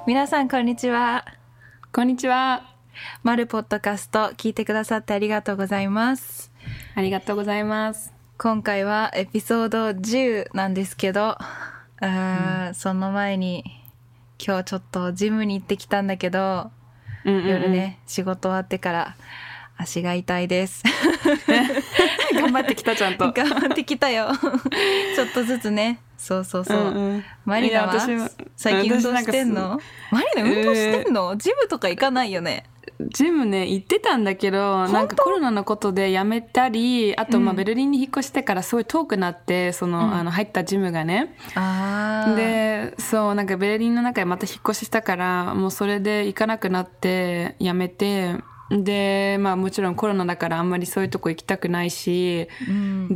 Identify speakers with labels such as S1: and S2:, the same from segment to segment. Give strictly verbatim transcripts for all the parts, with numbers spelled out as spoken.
S1: 皆さんこんにちは。
S2: こんにちは。
S1: マルポッドキャスト聞いてくださってありがとうございます。
S2: ありがとうございます。
S1: 今回はエピソードじゅうなんですけど、あ、うん、その前に今日ちょっとジムに行ってきたんだけど、うんうんうん、夜ね仕事終わってから足が痛いです
S2: 頑張ってきた。ちゃんと
S1: 頑張ってきたよちょっとずつね。そうそうそう、うんうん、マリナは最近運動してんの？マリナ運動してんの、えー、ジムとか行かないよね。
S2: ジムね行ってたんだけど、なんかコロナのことでやめたり、あとまあベルリンに引っ越してからすごい遠くなって、その、うん、あの入ったジムがね、あでそうなんかベルリンの中でまた引っ越ししたから、もうそれで行かなくなってやめて、でまあもちろんコロナだからあんまりそういうとこ行きたくないし、うん、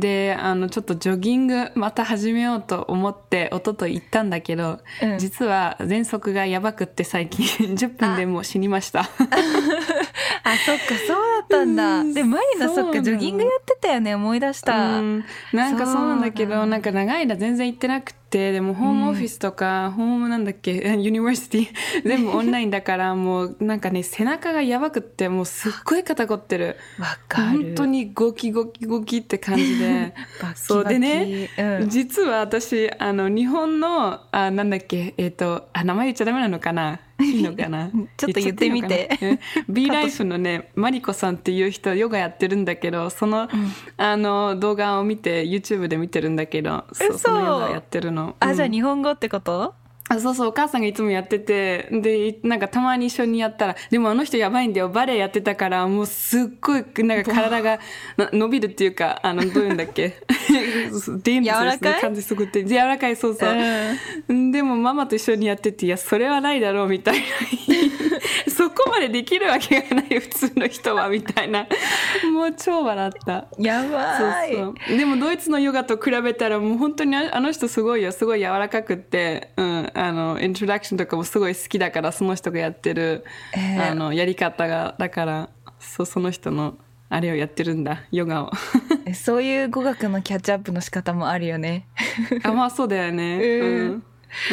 S2: であのちょっとジョギングまた始めようと思って一昨日行ったんだけど、うん、実は喘息がやばくって最近じゅっぷんでもう死にましたあ
S1: そっかそうだったんだ。でマリナそっかジョギングやってたよね。思い出した、うん、
S2: なんかそうなんだけど、なんか長い間全然行ってなくて、でもホームオフィスとか、うん、ホームなんだっけユニバーシティ全部オンラインだからもうなんかね背中がやばくってもうすっごい肩凝ってる。
S1: わかる。
S2: 本当にゴキゴキゴキって感じで
S1: バキバキ。
S2: そうでね、うん、実は私あの日本のあなんだっけえっ、ー、とあ名前言っちゃダメなのかないいのかな
S1: ちょっと言ってみて。
S2: B ライフのねマリコさんっていう人ヨガやってるんだけど、その、うん、あの動画を見て YouTube で見てるんだけど、そうそのヨガやってるの。
S1: あ、うん、じゃあ日本語ってこと？
S2: あそうそう、お母さんがいつもやってて、でなんかたまに一緒にやったら、でもあの人やばいんだよ、バレエやってたからもうすっごいなんか体が伸びるっていうか、あのどういうんだっけ
S1: 柔らかい
S2: 感じすごくて柔らかい。そうそう、うん、でもママと一緒にやってて、いやそれはないだろうみたいなそこまでできるわけがない普通の人はみたいなもう超笑った。
S1: やばい。
S2: そうそう、でもドイツのヨガと比べたらもう本当にあの人すごいよ、すごい柔らかくって、うんあのイントロダクションとかもすごい好きだから、その人がやってる、えー、あのやり方がだからそその人のあれをやってるんだ、ヨガを
S1: そういう語学のキャッチアップの仕方もあるよね
S2: あまあそうだよね、うんうんうん、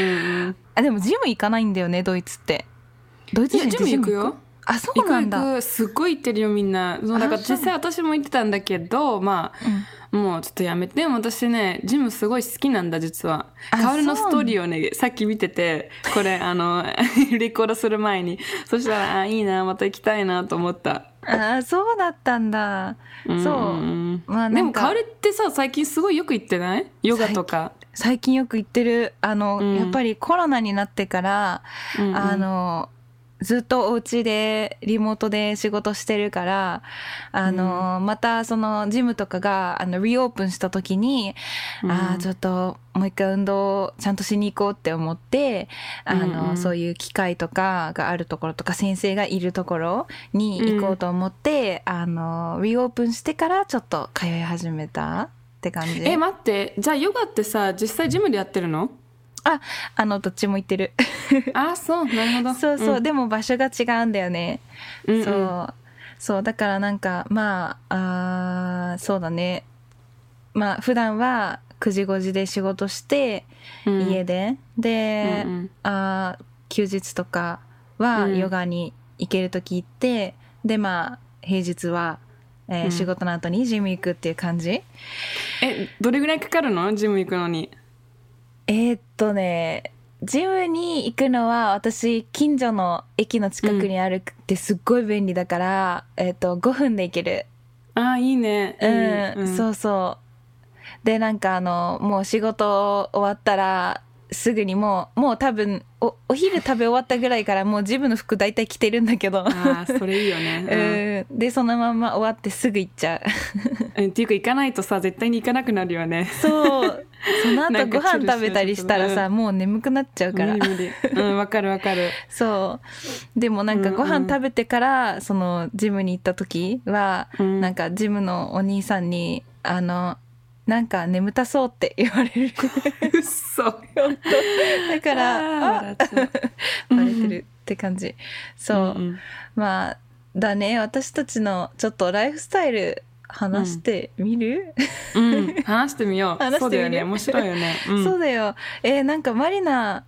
S1: あでもジム行かないんだよねドイツって。ドイツ人って
S2: ジム行くよ。
S1: あそうなんだ。
S2: 行く行く、すっごい行ってるよみんな。そうだから実際私も行ってたんだけど、まあ、うん、もうちょっとやめて。でも私ねジムすごい好きなんだ実は。カオルのストーリーをねさっき見てて、これあのレコードする前に、そしたらあいいなまた行きたいなと思った。
S1: あそうだったんだ。うんそう、
S2: まあ、でもカオルってさ最近すごいよく行ってない？ヨガとか
S1: 最近よく行ってる。あの、うん、やっぱりコロナになってから、うんうん、あのずっとお家でリモートで仕事してるから、あの、うん、またそのジムとかがあのリオープンした時に、うん、あちょっともう一回運動ちゃんとしに行こうって思って、あの、うんうん、そういう機械とかがあるところとか先生がいるところに行こうと思って、うん、あのリオープンしてからちょっと通い始めたって感じ。
S2: え待って、じゃあヨガってさ実際ジムでやってるの？
S1: あ、あのどっちも行ってる
S2: あ、そう、なるほど。
S1: そうそう、うん、でも場所が違うんだよね、うんうん、そうそうだからなんかまあ、あそうだね、まあ普段はくじごじで仕事して、うん、家でで、うんうん、あ休日とかはヨガに行けるとき行って、うん、でまあ平日は、えーうん、仕事の後にジム行くっていう感じ。
S2: えどれぐらいかかるのジム行くのに？
S1: えー、っとねジムに行くのは私近所の駅の近くにあるってすっごい便利だから、うん、えー、っとごふんで行ける。
S2: あーいいね、
S1: うん、うん、そうそうでなんかあのもう仕事終わったらすぐにもうもう多分 お, お昼食べ終わったぐらいからもうジムの服大体着てるんだけど
S2: あそれいいよね、
S1: うん、でそのまま終わってすぐ行っちゃ
S2: う、うん、っていうか行かないとさ絶対に行かなくなるよね。
S1: そうその後ご飯食べたりしたらさ、うん、もう眠くなっちゃうから
S2: 無理無理、うんわかるわかる
S1: そうでもなんかご飯食べてからそのジムに行った時は、うん、なんかジムのお兄さんにあのなんか眠たそうって言われる
S2: うっそ本
S1: 当だからあバレてるって感じ。そう、うんうん、まあだね私たちのちょっとライフスタイル話してみる、
S2: うんうん、話してみよう。
S1: 話してみる
S2: そうだよね面白いよね、うん、
S1: そうだよ。えー、なんかマリナ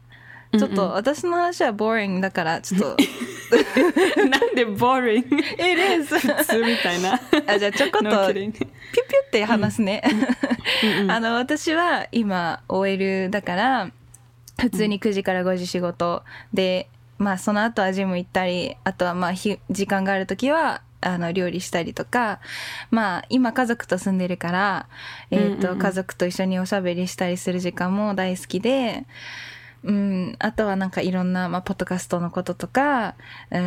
S1: ちょっと私の話は boring だからちょっと
S2: なんで boring?
S1: It is
S2: 普通みたいな
S1: あじゃあちょこっと
S2: No
S1: ピュピュ
S2: kidding
S1: って話すねあの私は今 オーエル だから普通にくじからごじ仕事で、まあその後はジム行ったり、あとはまあひ時間があるときはあの料理したりとか、まあ今家族と住んでるから、えっと家族と一緒におしゃべりしたりする時間も大好きで、うん、あとはなんかいろんな、まあ、ポッドキャストのこととか、うん、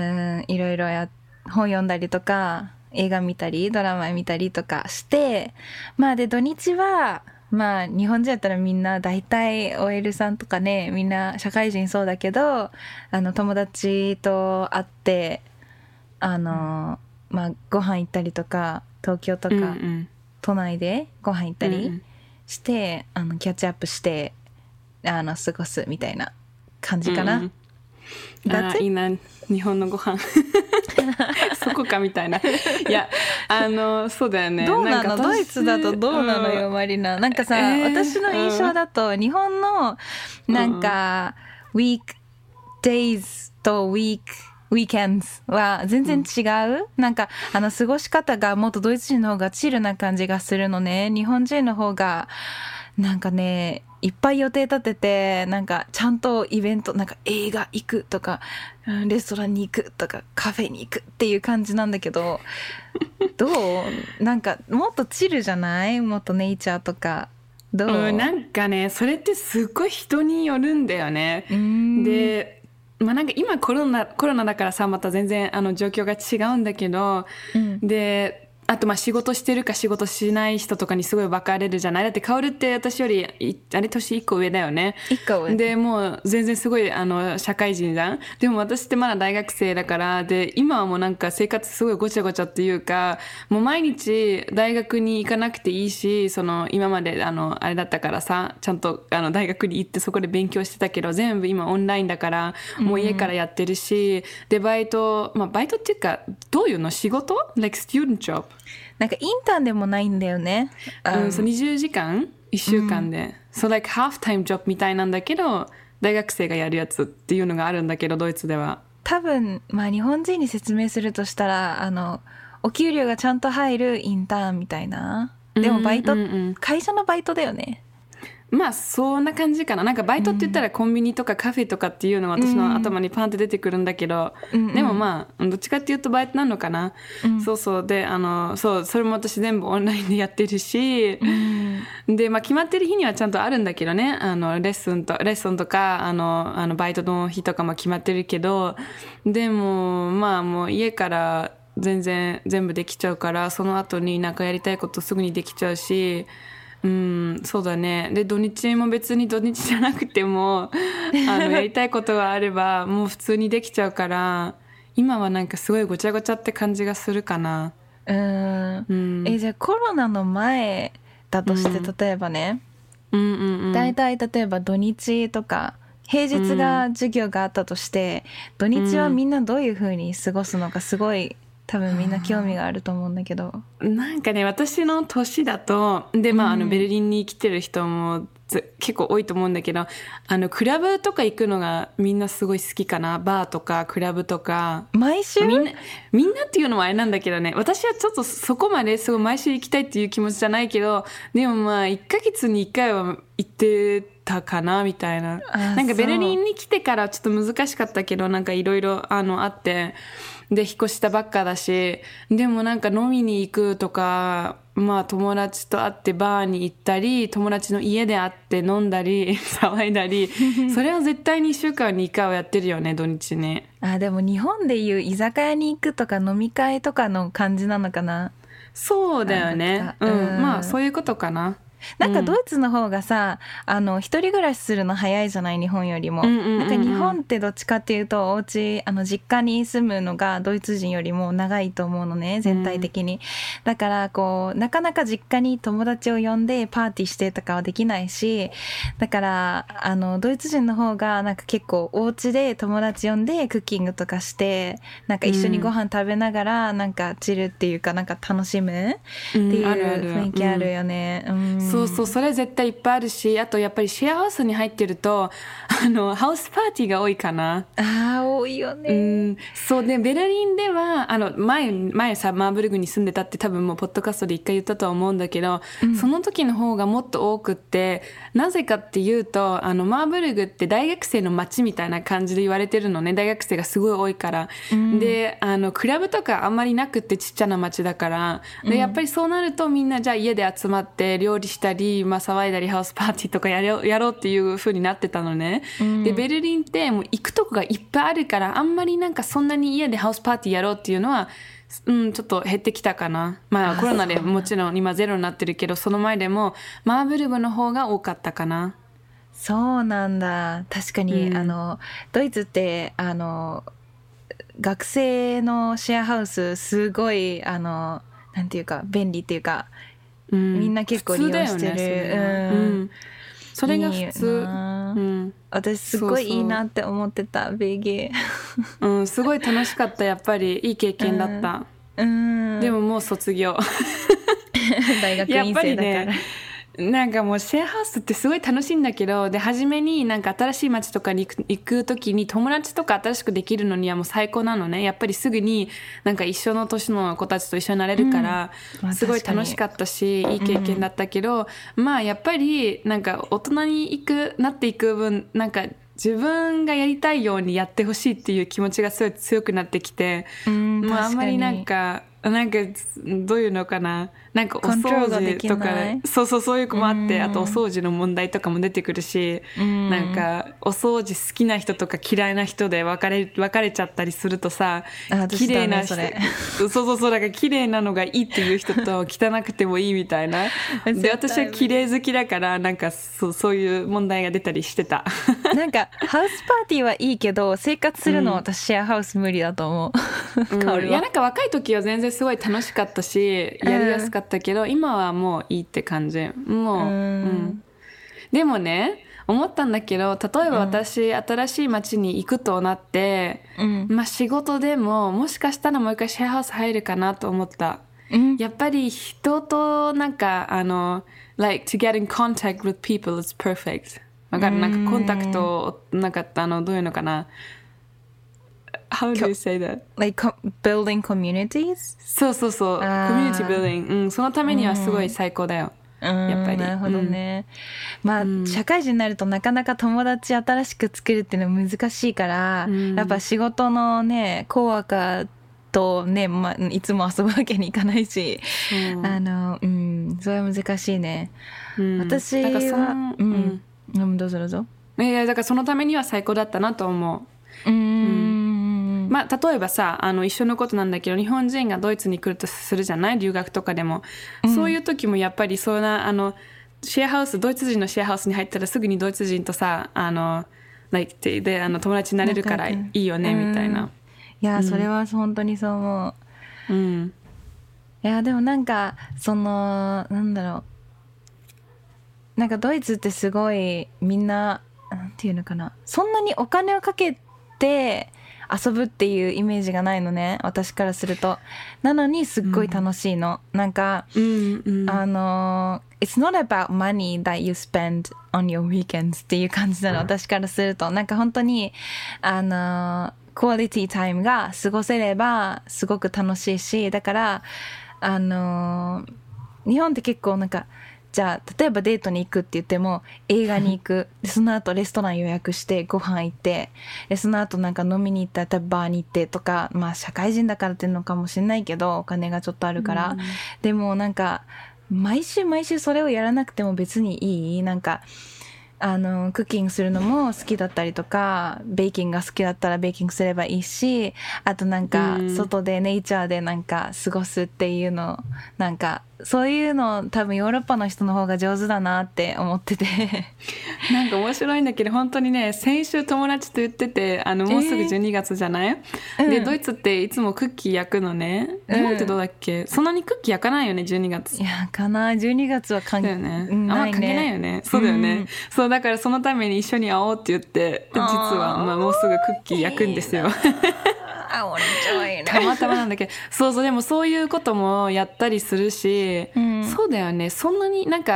S1: いろいろや本読んだりとか映画見たりドラマ見たりとかして、まあで土日はまあ日本人やったらみんな大体 オーエル さんとかね、みんな社会人そうだけど、あの友達と会ってあの、うん、まあご飯行ったりとか東京とか、うんうん、都内でご飯行ったりして、うんうん、あのキャッチアップしてあの過ごすみたいな感じかな、うん
S2: うん、あいいな日本のご飯そこかみたいないやあのそうだよね
S1: どうなのドイツだとどうなのよ、うん、マリナなんかさ、えー、私の印象だと、うん、日本のなんか、うん、ウィークデイズとウィークウィーケンズは全然違う、うん、なんかあの過ごし方がもっとドイツ人の方がチルな感じがするのね。日本人の方がなんかねいっぱい予定立ててなんかちゃんとイベントなんか映画行くとかレストランに行くとかカフェに行くっていう感じなんだけどどうなんかもっとチルじゃないもっとネイチャーとかどう、
S2: うん、なんかねそれってすっごい人によるんだよね。でまあ、なんか今コロナコロナだからさまた全然あの状況が違うんだけど、うん、であとまあ仕事してるか仕事しない人とかにすごい分かれるじゃない。だって薫って私よりあれ年いっこ上だよね。
S1: いっこ上
S2: でもう全然すごいあの社会人じゃん。でも私ってまだ大学生だからで今はもうなんか生活すごいごちゃごちゃっていうかもう毎日大学に行かなくていいしその今まであのあれだったからさちゃんとあの大学に行ってそこで勉強してたけど全部今オンラインだからもう家からやってるし、うん、でバイトまあバイトっていうかどういうの仕事 like student job
S1: なんかインターンでもないんだよね。
S2: うん、そうにじゅうじかんいっしゅうかんで、うん、そう like half time job みたいなんだけど大学生がやるやつっていうのがあるんだけどドイツでは
S1: 多分まあ日本人に説明するとしたらあのお給料がちゃんと入るインターンみたいなでもバイト、うんうんうん、会社のバイトだよね。
S2: まあそんな感じかな。なんかバイトって言ったらコンビニとかカフェとかっていうのが私の頭にパンって出てくるんだけど、うんうん、でもまあどっちかっていうとバイトなのかな、うん、そうそうであのそうそれも私全部オンラインでやってるし、うん、でまあ決まってる日にはちゃんとあるんだけどねあのレッスンとレッスンとかあのあのバイトの日とかも決まってるけどでもまあもう家から全然全部できちゃうからその後になんかやりたいことすぐにできちゃうしうん、そうだね。で土日も別に土日じゃなくてもあのやりたいことがあればもう普通にできちゃうから今はなんかすごいごちゃごちゃって感じがするかな。
S1: うーん、うん、えじゃあコロナの前だとして、うん、例えばね、うんうんうん、だいたい例えば土日とか平日が授業があったとして、うん、土日はみんなどういう風に過ごすのかすごい多分みんな興味があると思うんだけど
S2: なんかね私の年だとで、まあ、あのベルリンに来てる人も結構多いと思うんだけどあのクラブとか行くのがみんなすごい好きかな。バーとかクラブとか
S1: 毎週
S2: みんなみんなっていうのもあれなんだけどね私はちょっとそこまですごい毎週行きたいっていう気持ちじゃないけどでもまあいっかげつにいっかいは行ってたかなみたいな。なんかベルリンに来てからちょっと難しかったけどなんかいろいろあのあってで引っ越したばっかだしでもなんか飲みに行くとかまあ友達と会ってバーに行ったり友達の家で会って飲んだり騒いだりそれは絶対にいっしゅうかんにいっかいはやってるよね土日に。
S1: あでも日本でいう居酒屋に行くとか飲み会とかの感じなのかな。
S2: そうだよね、うん、うん、まあそういうことかな。
S1: なんかドイツの方がさ、うん、あの一人暮らしするの早いじゃない日本よりも、うんうんうんうん、なんか日本ってどっちかっていうとお家あの実家に住むのがドイツ人よりも長いと思うのね全体的に、うん、だからこうなかなか実家に友達を呼んでパーティーしてとかはできないしだからあのドイツ人の方がなんか結構お家で友達呼んでクッキングとかしてなんか一緒にご飯食べながらなんかチルっていうかなんか楽しむっていう雰囲気あるよね、うんうん
S2: そうそう、それ絶対いっぱいあるし、あとやっぱりシェアハウスに入ってるとあのハウスパーティーが多いかな。
S1: あー多いよね。
S2: うん、そうでベルリンではあの前前さマーブルグに住んでたって多分もうポッドキャストで一回言ったとは思うんだけど、うん、その時の方がもっと多くって、なぜかっていうとあのマーブルグって大学生の街みたいな感じで言われてるのね。大学生がすごい多いから、うん、であのクラブとかあんまりなくってちっちゃな街だからで、やっぱりそうなるとみんなじゃあ家で集まって料理したり、まあ、騒いだりハウスパーティーとかやろう、やろうっていう風になってたのね、うん、でベルリンってもう行くとこがいっぱいあるからあんまりなんかそんなに家でハウスパーティーやろうっていうのは、うん、ちょっと減ってきたかな。まあコロナでもちろん今ゼロになってるけど、その前でもマーブルグの方が多かったかな。
S1: そうなんだ。確かに、
S2: うん、
S1: あのドイツってあの学生のシェアハウスすごいあのなんていうか便利っていうか、うん、みんな結構利用してる。
S2: ね、うん、それが普通。うん、
S1: 私すごいいいなって思ってたベーゲ
S2: ー、うん、すごい楽しかった。やっぱりいい経験だった、
S1: うん、
S2: でももう卒業
S1: 大学院生だから、
S2: なんかもうシェアハウスってすごい楽しいんだけど、で初めになんか新しい街とかに行く、行く時に友達とか新しくできるのにはもう最高なのね。やっぱりすぐになんか一緒の年の子たちと一緒になれるから、うん、まあ、すごい楽しかったしいい経験だったけど、うん、まあやっぱりなんか大人に行くなっていく分なんか自分がやりたいようにやってほしいっていう気持ちがすごい強くなってきて、うん、まああんまりなんかなんかどういうのかな、なんかお掃除とかそうそうそういう子もあって、うん、あとお掃除の問題とかも出てくるし、うん、なんかお掃除好きな人とか嫌いな人で分かれ分かれちゃったりするとさ、綺麗な人そうそうそうだから綺麗なのがいいっていう人と汚くてもいいみたいなで私は綺麗好きだからなんかそうそういう問題が出たりしてた
S1: なんかハウスパーティーはいいけど生活するのは私シェアハウス無理だと思う、
S2: うん、いやなんか若い時は全然すごい楽しかったしやりやすかったけど、うん、今はもういいって感じもう、うんうん、でもね思ったんだけど例えば私、うん、新しい街に行くとなって、うん、まあ仕事でももしかしたらもう一回シェアハウス入るかなと思った、うん、やっぱり人となんかあの like to get in contact with people is perfect わかる、なんかコンタクトなんかあのどういうのかなHow do you say that?
S1: Like building communities?
S2: そうそうそう。コミュニティ building。うん、そのためにはすごい最高だよ。
S1: うん、やっぱり。なるほどね。うん、まあ、うん、社会人になるとなかなか友達新しく作るっていうのは難しいから、うん、やっぱ仕事のね、コワーカーとね、まあ、いつも遊ぶわけにいかないし、うん、あの、うん、それは難しいね。うん、私は、うん、うん、どうぞどうぞ。
S2: いや、だからそのためには最高だったなと思う。うん。うんまあ、例えばさあの一緒のことなんだけど日本人がドイツに来るとするじゃない留学とかでも、うん、そういう時もやっぱりそんなあのシェアハウスドイツ人のシェアハウスに入ったらすぐにドイツ人とさあの like であの友達になれるからいいよねみたいな、うん、
S1: いや、うん、それは本当にそう思う、うん、いやでもなんかそのなんだろうなんかドイツってすごいみんななんていうのかなそんなにお金をかけて遊ぶっていうイメージがないのね私からするとなのにすっごい楽しいの、うん、なんか、うんうん、あの It's not about money that you spend on your weekends っていう感じなの私からするとなんか本当にあのクオリティタイムが過ごせればすごく楽しいしだからあの日本って結構なんかじゃあ例えばデートに行くって言っても映画に行くでその後レストラン予約してご飯行ってでその後なんか飲みに行ったらバーに行ってとかまあ社会人だからっていうのかもしれないけどお金がちょっとあるから、うん、でもなんか毎週毎週それをやらなくても別にいいなんかあのクッキングするのも好きだったりとかベーキングが好きだったらベーキングすればいいしあとなんか外でネイチャーでなんか過ごすっていうのなんかそういうの多分ヨーロッパの人の方が上手だなって思ってて
S2: なんか面白いんだけど本当にね先週友達と言っててあのもうすぐじゅうにがつじゃない、えー、で、うん、ドイツっていつもクッキー焼くのね日本ってどうだっけ、うん、そんなにクッキー焼かないよねじゅうにがつ
S1: 焼かないじゅうにがつは関係ないね
S2: あんま関係ないよねそうだよね、うん、そうだからそのために一緒に会おうって言って実はまあもうすぐクッキー焼くんですよたまたまなんだけどそうそうでもそういうこともやったりするし、うん、そうだよねそんなになんか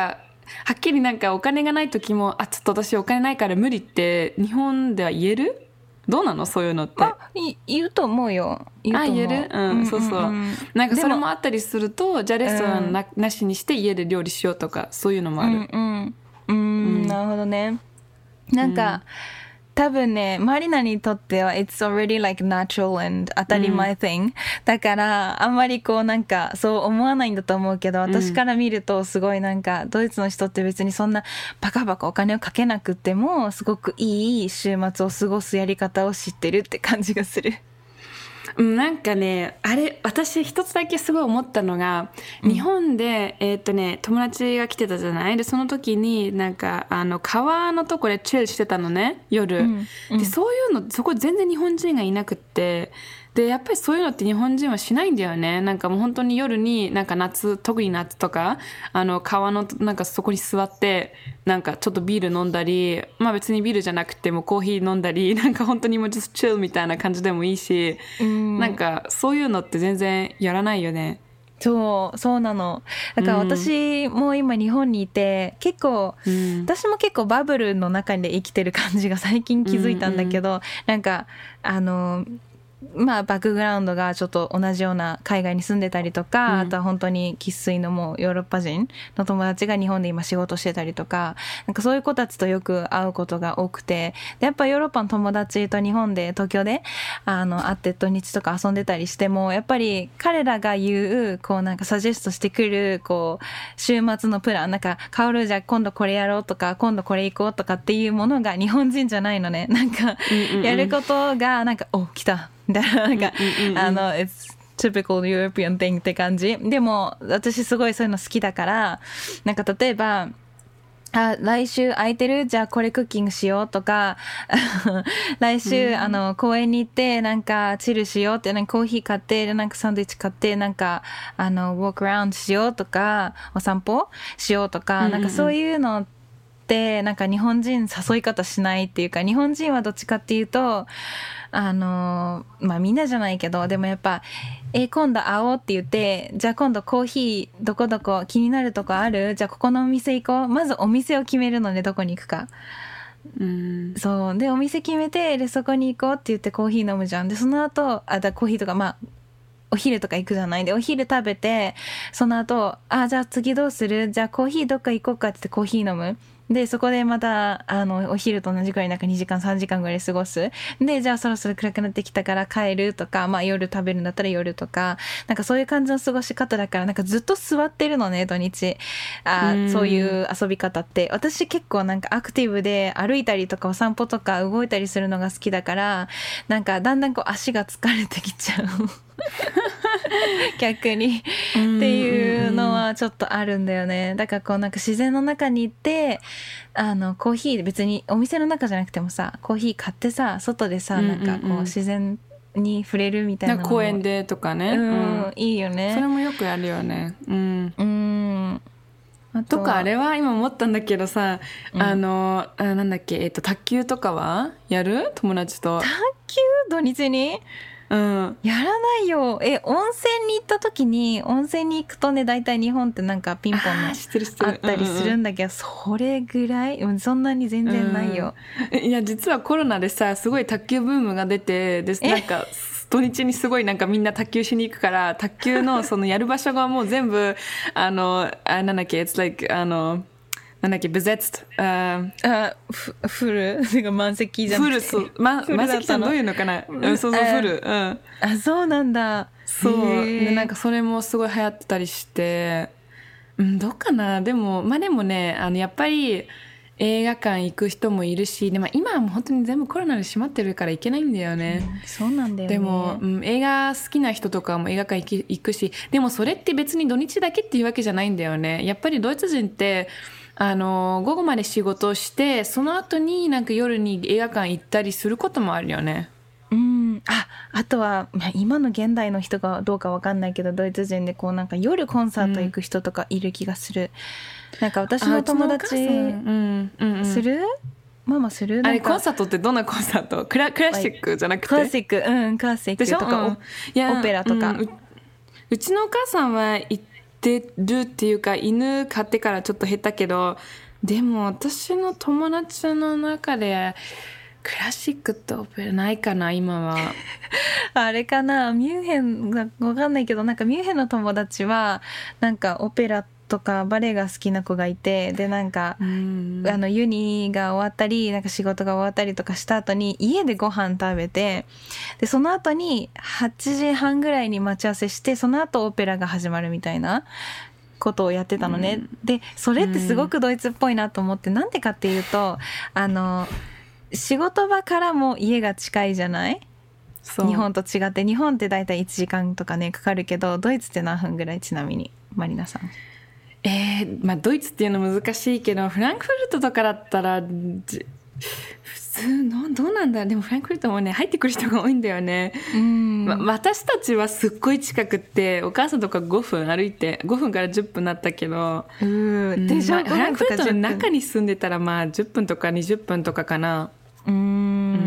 S2: はっきりなんかお金がない時も、あ、ちょっと私お金ないから無理って日本では言える？どうなのそういうのって。
S1: あ、い言うと思うよ。言うと思う。
S2: あ、言える？うん、うんうんうん、そうそう。なんかそれもあったりすると、じゃあレストラン な,、うん、なしにして家で料理しようとか、そういうのもある。
S1: うんうん。うん、うん、なるほどね。なんか、うん、多分ね、マリナにとっては it's already like natural and 当たり前 thing、うん、だからあんまりこうなんかそう思わないんだと思うけど、私から見るとすごいなんかドイツの人って別にそんなバカバカお金をかけなくてもすごくいい週末を過ごすやり方を知ってるって感じがする。
S2: なんかね、あれ、私一つだけすごい思ったのが、うん、日本で、えーっとね、友達が来てたじゃない？で、その時になんか、あの、川のとこでチルしてたのね、夜。うんうん、で、そういうの、そこ全然日本人がいなくって、で、やっぱりそういうのって日本人はしないんだよね。なんかもう本当に夜になんか夏、特に夏とか、あの川のなんかそこに座って、なんかちょっとビール飲んだり、まあ別にビールじゃなくてもコーヒー飲んだり、なんか本当にもう just chill みたいな感じでもいいし、んなんかそういうのって全然やらないよね。
S1: そうそうなの。だから私も今日本にいて、結構、うん、私も結構バブルの中で生きてる感じが最近気づいたんだけど、うんうん、なんかあのまあバックグラウンドがちょっと同じような海外に住んでたりとか、うん、あとは本当に生粋のもうヨーロッパ人の友達が日本で今仕事してたりとか、なんかそういう子たちとよく会うことが多くて、でやっぱヨーロッパの友達と日本で東京であの会って土日とか遊んでたりしても、やっぱり彼らが言うこうなんかサジェストしてくるこう週末のプラン、なんかカオルじゃ今度これやろうとか今度これ行こうとかっていうものが日本人じゃないのね。なんかやることがなんか、お来ただからなんか、うんうんうん、あの It's typical European thing って感じ。でも私すごいそういうの好きだから、なんか例えばあ来週空いてる？じゃあこれクッキングしようとか来週、うん、あの公園に行ってなんかチルしようって、なんかコーヒー買ってなんかサンドイッチ買ってなんかあのウォークアラウンドしようとかお散歩しようとか、うんうんうん、なんかそういうのってなんか日本人誘い方しないっていうか、日本人はどっちかっていうとあのまあみんなじゃないけど、でもやっぱえ今度会おうって言って、じゃあ今度コーヒーどこどこ気になるとこある？じゃあここのお店行こう。まずお店を決めるので、どこに行くか。うんそうでお店決めて、でそこに行こうって言ってコーヒー飲むじゃん。でその後あだコーヒーとかまあお昼とか行くじゃない。でお昼食べてその後あじゃあ次どうする？じゃあコーヒーどっか行こうかって言ってコーヒー飲む。でそこでまたあのお昼と同じくらいなんかにじかんさんじかんぐらい過ごす。でじゃあそろそろ暗くなってきたから帰るとか、まあ夜食べるんだったら夜とか、なんかそういう感じの過ごし方だから、なんかずっと座ってるのね土日。あそういう遊び方って、私結構なんかアクティブで歩いたりとかお散歩とか動いたりするのが好きだから、なんかだんだんこう足が疲れてきちゃう逆にっていうのはちょっとあるんだよね。だからこうなんか自然の中に行ってあのコーヒー別にお店の中じゃなくてもさ、コーヒー買ってさ外でさ、なんかこう自然に触れるみたいなのも
S2: 公園でとかね、
S1: うんうん、いいよね。
S2: それもよくやるよね。うん、
S1: うん
S2: あとかあれは今思ったんだけどさ、うん、あのあなんだっけ、えっと卓球とかはやる？友達と
S1: 卓球土日に
S2: うん、
S1: やらないよ。え温泉に行った時に、温泉に行くとね大体日本ってなんかピンポンのあったりするんだけど、それぐらいそんなに全然ないよ、
S2: うん、いや実はコロナでさすごい卓球ブームが出て、でなんか土日にすごいなんかみんな卓球しに行くから、卓球のそのやる場所がもう全部あのあなんだっけ It's like あのなんだっけbesetzt あ
S1: あフルてか満席じゃなくて
S2: フル、そう、ま、満席さんどういうのかな、うん、そうそうフル、うん、あ
S1: そうなんだ。
S2: そうでなんかそれもすごい流行ってたりして、うん、どうかな。でもまあでもねあのやっぱり映画館行く人もいるし、でも今はもう本当に全部コロナで閉まってるから行けないんだよね、
S1: うん、そうなんだよね。
S2: でも、うん、映画好きな人とかも映画館行き行くし、でもそれって別に土日だけっていうわけじゃないんだよね。やっぱりドイツ人ってあの午後まで仕事をしてその後になんか夜に映画館行ったりすることもあるよね。
S1: うん、ああとは今の現代の人がどうか分かんないけど、ドイツ人でこうなんか夜コンサート行く人とかいる気がする、うん、なんか私の友達、うんうんうん、するママする
S2: あれコンサートってどんなコンサート？クラ、クラシックじゃなくて、
S1: クラシック、うん、クラシックとか、うん、オペラとか、うん、
S2: う, うちのお母さんは行ってるっていうか、犬飼ってからちょっと減ったけど、でも私の友達の中でクラシックとオペラないかな今は。
S1: あれかな、ミュンヘンがわかんないけど、なんかミュンヘンの友達はなんかオペラとかバレエが好きな子がいて、でなんか、うん、あのユニが終わったりなんか仕事が終わったりとかした後に家でご飯食べて、でその後にはちじはんぐらいに待ち合わせして、その後オペラが始まるみたいなことをやってたのね、うん、でそれってすごくドイツっぽいなと思って、なんでかっていうと、あの仕事場からも家が近いじゃない。日本と違って、日本ってだいたいいちじかんとかねかかるけど、ドイツって何分ぐらい？ちなみにマリナさん。
S2: えーまあ、ドイツっていうの難しいけど、フランクフルトとかだったら普通のどうなんだ。でもフランクフルトもね入ってくる人が多いんだよね。うん、ま、私たちはすっごい近くって、お母さんとかごふん歩いてごふんからじゅっぷんなったけど、うん、で、まあ、フランクフルトの中に住んでたらまあじゅっぷんとかにじゅっぷんとかかな。
S1: うーん、うん、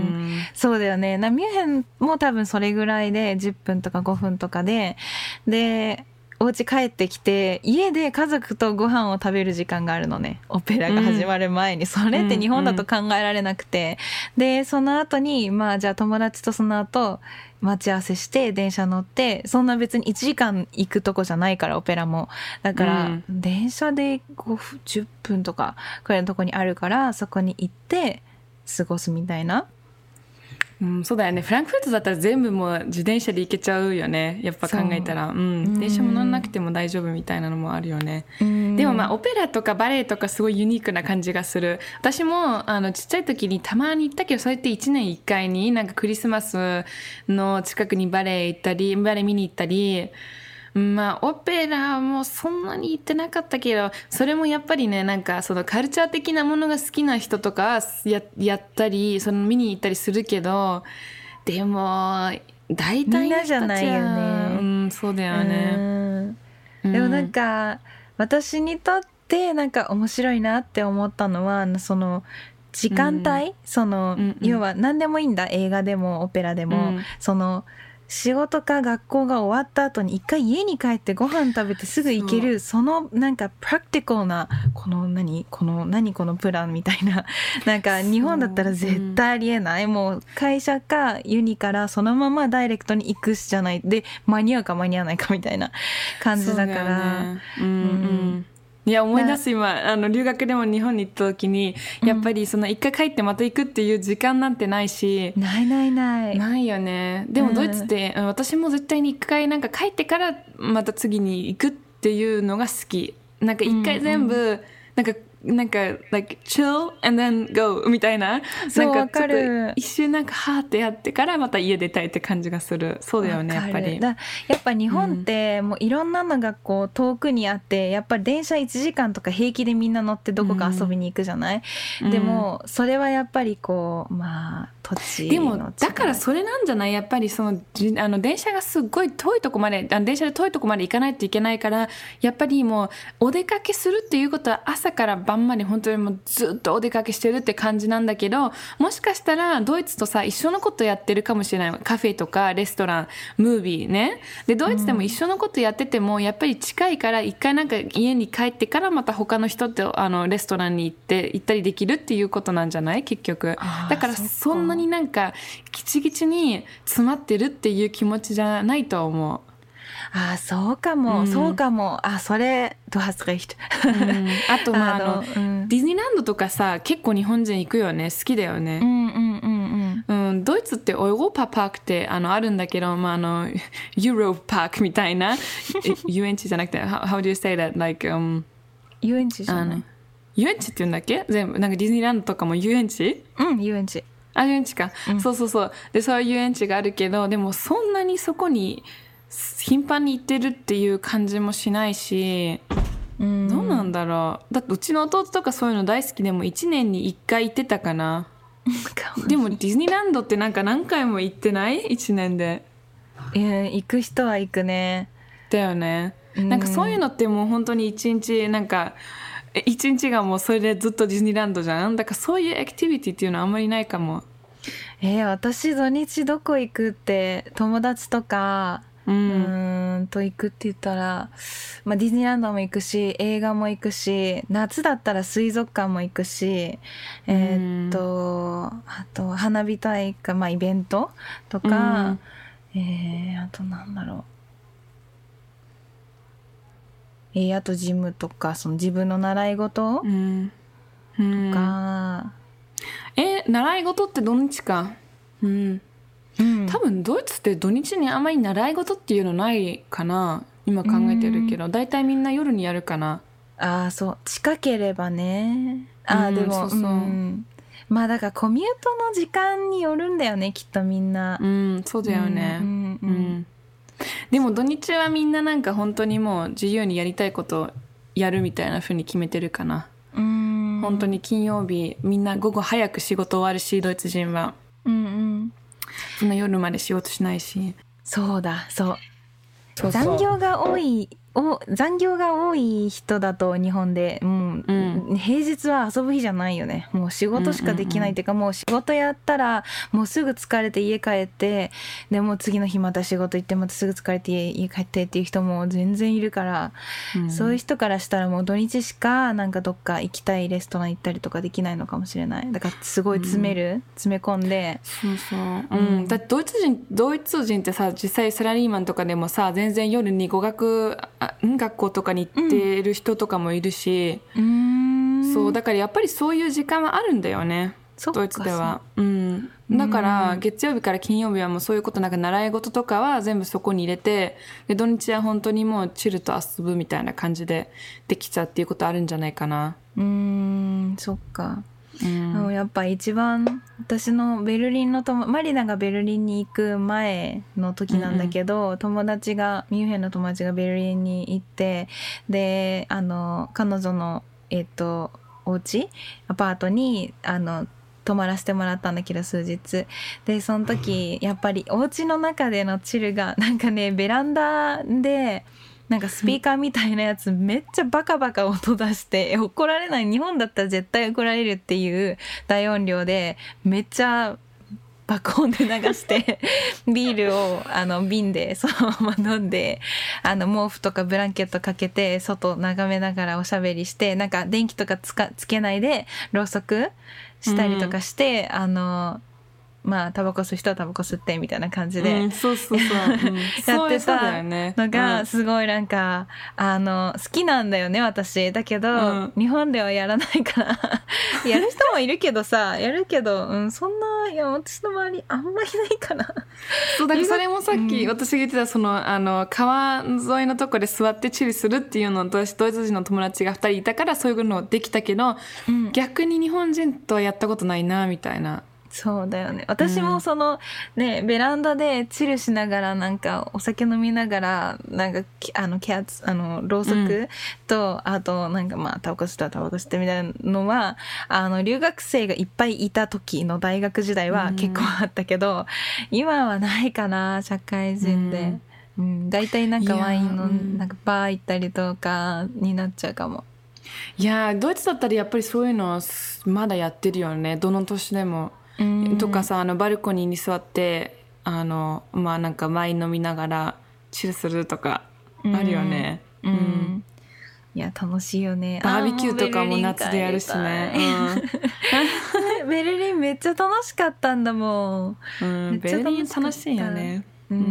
S1: そうだよね。なミュンヘンも多分それぐらいでじゅっぷんとかごふんとかで、でお家帰ってきて家で家族とご飯を食べる時間があるのね、オペラが始まる前に、うん、それって日本だと考えられなくて、うんうん、でその後にまあじゃあ友達とその後待ち合わせして電車乗って、そんな別にいちじかん行くとこじゃないからオペラも、だから、うん、電車でごふんじゅっぷんとかくらいのとこにあるから、そこに行って過ごすみたいな。
S2: うん、そうだよね。フランクフルトだったら全部もう自転車で行けちゃうよね、やっぱ考えたら。う、うん、電車も乗らなくても大丈夫みたいなのもあるよね。でもまあオペラとかバレエとかすごいユニークな感じがする。私もあのちっちゃい時にたまに行ったけど、そうやっていちねんいっかいになんかクリスマスの近くにバレエ行ったりバレエ見に行ったり、まあオペラもそんなに行ってなかったけど、それもやっぱりね、なんかそのカルチャー的なものが好きな人とか や, やったりその見に行ったりするけど、でも大体の人たちはみんなじゃないよね。うん、そうだよね。
S1: うん、でもなんか私にとってなんか面白いなって思ったのは、その時間帯、うん、その、うんうん、要は何でもいいんだ、映画でもオペラでも、うん、その仕事か学校が終わった後に一回家に帰ってご飯食べてすぐ行ける、そのなんかプラクティカルなこの何この何このプランみたいな、なんか日本だったら絶対ありえない、うん、もう会社かユニからそのままダイレクトに行くしじゃないで、間に合うか間に合わないかみたいな感じだから、ね、うんうん、
S2: いや思い出す、今あの留学でも日本に行った時に、やっぱりその一回帰ってまた行くっていう時間なんてないし、
S1: うん、ないないない
S2: ないよね。でもドイツって、うん、私も絶対に一回なんか帰ってからまた次に行くっていうのが好き。なんか一回全部、うんうん、なんかなんか like chill and then go みたいな、
S1: そう
S2: なんかちょっと一瞬なんかはーってやってからまた家出たいって感じがする。そうだよね、やっぱり。
S1: だやっぱ日本ってもういろんなのがこう遠くにあって、やっぱり電車いちじかんとか平気でみんな乗ってどこか遊びに行くじゃない、うん、でもそれはやっぱりこうまあ土地の違い。
S2: でもだからそれなんじゃない、やっぱりそのあの電車がすっごい遠いとこまで、あの電車で遠いとこまで行かないといけないから、やっぱりもうお出かけするっていうことは朝から晩まで本当にもうずっとお出かけしてるって感じなんだけど、もしかしたらドイツとさ一緒のことやってるかもしれない。カフェとかレストラン、ムービーね。でドイツでも一緒のことやってても、うん、やっぱり近いから一回なんか家に帰ってからまた他の人とあのレストランに行って行ったりできるっていうことなんじゃない、結局。だからそんなになんかギチギチに詰まってるっていう気持ちじゃないと思う。
S1: ああそうかも、うん、そうかも。あそれdu hast recht、
S2: うん、あとまああの、うん、ディズニーランドとかさ結構日本人行くよね、好きだよね。
S1: うんうんうんうん、
S2: うん、ドイツってオーロッパパークってあのあるんだけど、まあ、あのユーロパークみたいな遊園地じゃなくて how, how do you say that like、um,
S1: 遊園地じゃない、
S2: 遊園地って言うんだっけ、全部なんかディズニーランドとかも遊園地、
S1: うん遊園地、
S2: あ遊園地か、うん、そうそうそう。でそういう遊園地があるけど、でもそんなにそこに頻繁に行ってるっていう感じもしないし、うん、どうなんだろう。だってうちの弟とかそういうの大好きでもいちねんにいっかい行ってたかなでもディズニーランドってなんか何回も行ってない？いちねんで。
S1: いや行く人は行くね。
S2: だよね、うん、なんかそういうのってもう本当に一日なんか一日がもうそれでずっとディズニーランドじゃん。だからそういうアクティビティっていうのはあんまりないかも。
S1: えー、私土日どこ行くって友達とかうん、うーんと行くって言ったら、まあ、ディズニーランドも行くし映画も行くし夏だったら水族館も行くし、えー、っとあと花火大会、まあ、イベントとか、うん、えー、あとなんだろう、えー、あとジムとかその自分の習い事、うん、とか、
S2: え習い事って土日か、うんうん、多分ドイツって土日にあんまり習い事っていうのないかな今考えてるけど、だいたいみんな夜にやるかな。
S1: ああそう近ければね。ああ、うん、でもそうそう、うん、まあだからコミュートの時間によるんだよねきっとみんな。
S2: うんそうだよね、うんうんうん、でも土日はみんななんか本当にもう自由にやりたいことやるみたいな風に決めてるかな。うん、本当に金曜日みんな午後早く仕事終わるしドイツ人は、うんうん、そんな夜まで仕事しないし。
S1: そうだそうそうそう残業が多いお残業が多い人だと日本でもう、うん、平日は遊ぶ日じゃないよね。もう仕事しかできないっていうか、うんうんうん、もう仕事やったらもうすぐ疲れて家帰ってでもう次の日また仕事行ってまたすぐ疲れて家、家帰ってっていう人も全然いるから、うん、そういう人からしたらもう土日しかなんかどっか行きたいレストラン行ったりとかできないのかもしれない。だからすごい詰める、うん、詰め込んで
S2: そうそう、うん、だってドイツ人ドイツ人ってさ実際サラリーマンとかでもさ全然夜に語学学校とかに行ってる人とかもいるし、うん、そうだからやっぱりそういう時間はあるんだよねドイツでは、うん、だから月曜日から金曜日はもうそういうことなんか習い事とかは全部そこに入れてで土日は本当にもうチルと遊ぶみたいな感じでできちゃうっていうことあるんじゃないかな。
S1: うーんそっか、うん、やっぱ一番私のベルリンの友マリナがベルリンに行く前の時なんだけど、うんうん、友達がミュンヘンの友達がベルリンに行ってであの彼女のえっとお家アパートにあの泊まらせてもらったんだけど数日でその時やっぱりお家の中でのチルがなんかねベランダでなんかスピーカーみたいなやつめっちゃバカバカ音出して怒られない日本だったら絶対怒られるっていう大音量でめっちゃ爆音で流してビールをあの瓶でそのまま飲んであの毛布とかブランケットかけて外眺めながらおしゃべりしてなんか電気とかつかつけないでろうそくしたりとかして、うん、あのまあタバコ吸う人はタバコ吸ってみたいな感じで、うん、そうそうそう、うん、やってたのがすごいなんか、うん、あの好きなんだよね私だけど、うん、日本ではやらないからやる人もいるけどさやるけど、うん、そんないや私の周りあんまりないかな。
S2: そうだからそれもさっき私が言ってたその、あの川沿いのとこで座ってチルするっていうのを私ドイツ人の友達がふたりいたからそういうのできたけど、うん、逆に日本人とはやったことないなみたいな。
S1: そうだよね私もその、うん、ねベランダでチルしながらなんかお酒飲みながらなんかあのキャッツあのろうそくと、うん、あとなんかまあタバコ吸ったらタバコ吸ってみたいなのはあの留学生がいっぱいいた時の大学時代は結構あったけど、うん、今はないかな社会人で、うんうん、だいたいなんかワインのなんかバー行ったりとかになっちゃうかも。
S2: いやドイツだったらやっぱりそういうのまだやってるよねどの年でも。とかさあのバルコニーに座ってあのまあなんかワイン飲みながらチルするとかあるよね、うんうん、
S1: いや楽しいよね。
S2: バーベキューとかも夏でやるしね、
S1: うん、ベルリンめっちゃ楽しかったんだもん、
S2: うん、ベルリン楽しいよね、
S1: うん、うん、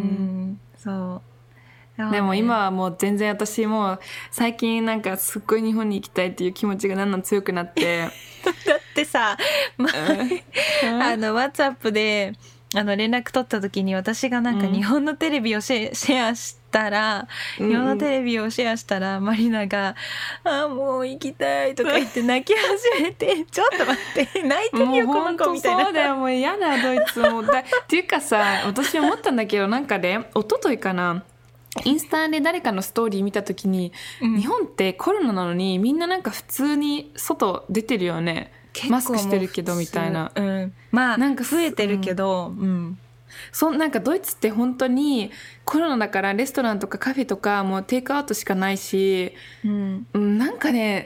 S1: そう
S2: でも今はもう全然私もう最近なんかすっごい日本に行きたいっていう気持ちがだんだん強くなってだ
S1: ってさ、まあの WhatsApp であの連絡取った時に私がなんか日本のテレビをシェ、うん、シェアしたら、うん、日本のテレビをシェアしたらマリナが「ああもう行きたい」とか言って泣き始めて「ちょっと待って泣いてみよこの子」みたいな。
S2: そうだよもう嫌だドイツもだっていうかさ私思ったんだけどなんかね一昨日かなインスタで誰かのストーリー見た時に、うん、日本ってコロナなのにみんななんか普通に外出てるよねマスクしてるけどみたいな、
S1: うん、まあなんか増えてるけど、うんうん、
S2: そなんかドイツって本当にコロナだからレストランとかカフェとかもうテイクアウトしかないし、うん、なんかね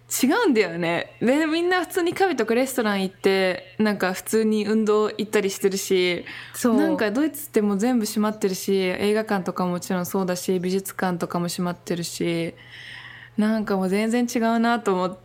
S2: 違うんだよね。でみんな普通にカフェとかレストラン行ってなんか普通に運動行ったりしてるし、そうなんかドイツってもう全部閉まってるし、映画館とかももちろんそうだし、美術館とかも閉まってるし、なんかもう全然違うなと思って、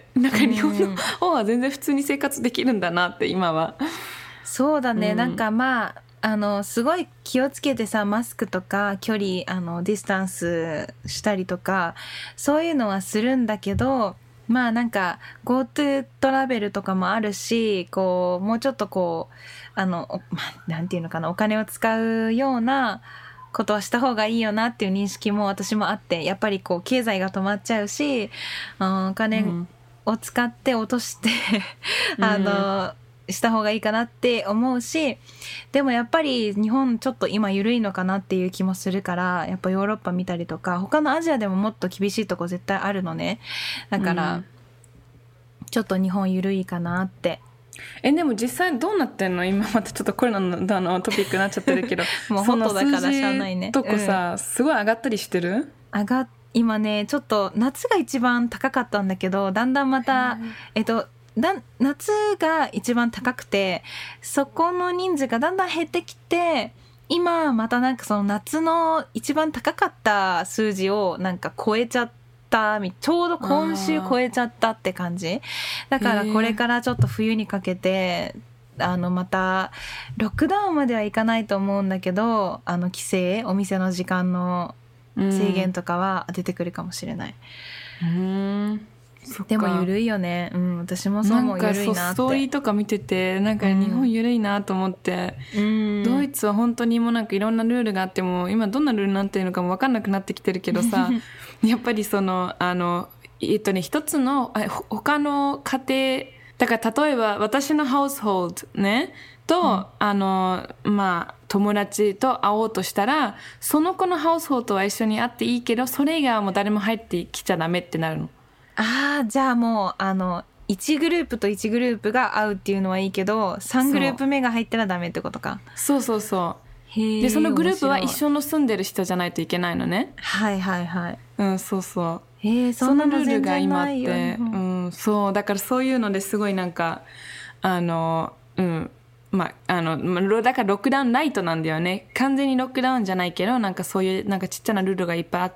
S2: なんか日本の方は全然普通に生活できるんだなって今は。
S1: そうだね、うん、なんかまああのすごい気をつけてさ、マスクとか距離あのディスタンスしたりとかそういうのはするんだけど、まあなんか GoTo トラベルとかもあるし、こうもうちょっとこうあの、まあ、なんていうのかな、お金を使うようなことはした方がいいよなっていう認識も私もあって、やっぱりこう経済が止まっちゃうし、お金を使って落として、うん、あの、うん、した方がいいかなって思うし、でもやっぱり日本ちょっと今緩いのかなっていう気もするから、やっぱヨーロッパ見たりとか他のアジアでももっと厳しいとこ絶対あるのね。だから、うん、ちょっと日本緩いかなって。
S2: えでも実際どうなってんの？今またちょっとコロナ の, のトピックになっちゃってるけど
S1: もうホットだからしゃあないね。
S2: とこさ、うん、すごい上がったりしてる？
S1: 上が今ねちょっと夏が一番高かったんだけど、だんだんまたえっとだ夏が一番高くて、そこの人数がだんだん減ってきて、今またなんかその夏の一番高かった数字をなんか超えちゃって、ちょうど今週超えちゃったって感じだから、これからちょっと冬にかけてあのまたロックダウンまではいかないと思うんだけど、あの規制、お店の時間の制限とかは出てくるかもしれない。
S2: うーん、
S1: でも緩いよね。うん、私もそう思う。緩いなって。なんか
S2: ストーリーとか見ててなんか日本緩いなと思って、うん、ドイツは本当にもうなんかいろんなルールがあっても今どんなルールになってるのかも分かんなくなってきてるけどさやっぱりそのあのえっとね一つの他の家庭だから、例えば私のハウスホールねと、うん、あのまあ友達と会おうとしたら、その子のハウスホールとは一緒に会っていいけど、それ以外はもう誰も入ってきちゃダメってなるの。
S1: ああ、じゃあもうあのいちグループといちグループが会うっていうのはいいけど、さんグループ目が入ったらダメってことか。
S2: そうそうそう。でそのグループは一緒の住んでる人じゃないといけないのね。
S1: はいはいはい。
S2: うん、そうそう。
S1: へえ、そんなの全然ないよ。
S2: そのルールが今あって、うん、そうだからそういうのですごいなんかあのうんまあ、あのだからロックダウンライトなんだよね。完全にロックダウンじゃないけど、なんかそういうなんかちっちゃなルールがいっぱいあって、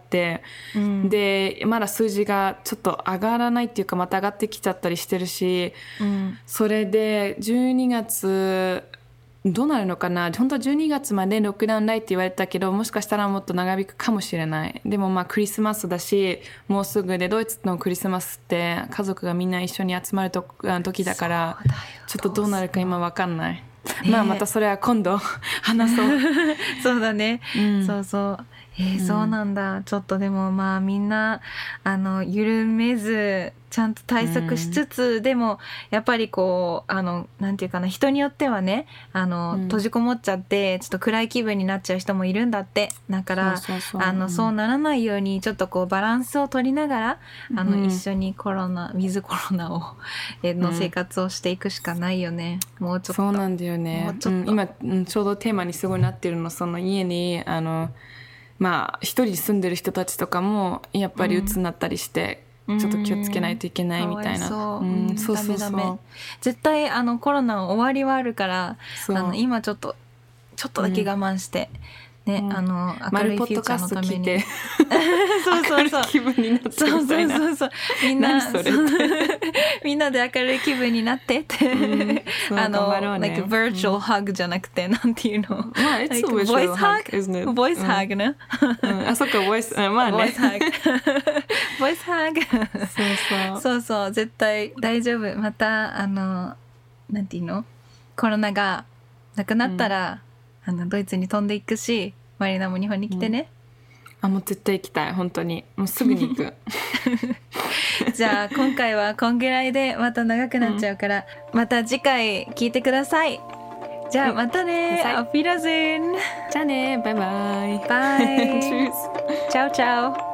S2: うん、でまだ数字がちょっと上がらないっていうか、また上がってきちゃったりしてるし、うん、それでじゅうにがつどうなるのかな。本当はじゅうにがつまでロックダウンライトって言われたけど、もしかしたらもっと長引くかもしれない。でもまあクリスマスだし、もうすぐで、ドイツのクリスマスって家族がみんな一緒に集まると時だから、ちょっとどうなるか今わかんない。ね、まあまたそれは今度話そう
S1: そうだね、うん、そうそう、えー、そうなんだ、うん、ちょっとでもまあみんなあの緩めずちゃんと対策しつつ、うん、でもやっぱりこうあのなんていうかな、人によってはねあの、うん、閉じこもっちゃってちょっと暗い気分になっちゃう人もいるんだって。だからそうそうそう、あの、うん、そうならないようにちょっとこうバランスを取りながらあの、うん、一緒にコロナウィズコロナをの生活をしていくしかないよね、うん、もうちょっと。そうなんだよね、うん、
S2: 今、うん、ちょうどテーマにすごいなってるの。その家にあのまあ一人住んでる人たちとかもやっぱり鬱になったりして、うん、ちょっと気をつけないといけないみたいな。そう、うん、そうそうそう。ダメダメ。
S1: 絶対あのコロナ終わりはあるから、あの今ちょっとちょっとだけ我慢して、うん、ね、うん、あの明るいフューチャーのために。そうそうそう。気分になってみたいな。そうそうそうそう。みんなそれみんなで明るい気分になってって、うん、あの、ね、like virtual hug じゃなくて、なんていうの？
S2: まあ、it's a virtual hug, isn't it?
S1: voice hug ね。
S2: あ、そっか、voice、まあね。
S1: voice hug。voice hug。そうそう。そうそう、絶対大丈夫。またあのなんていうの？コロナがなくなったら、うん、あのドイツに飛んでいくし、マリナも日本に来てね。
S2: うん、あ、もう絶対行きたい、本当に。もうすぐに行く。
S1: じゃあ今回はこんぐらいで、また長くなっちゃうから、うん、また次回聞いてください。じゃあまたね、アフィラゼン。
S2: じゃあね、バイバイ。
S1: バイ。チャオチャオ。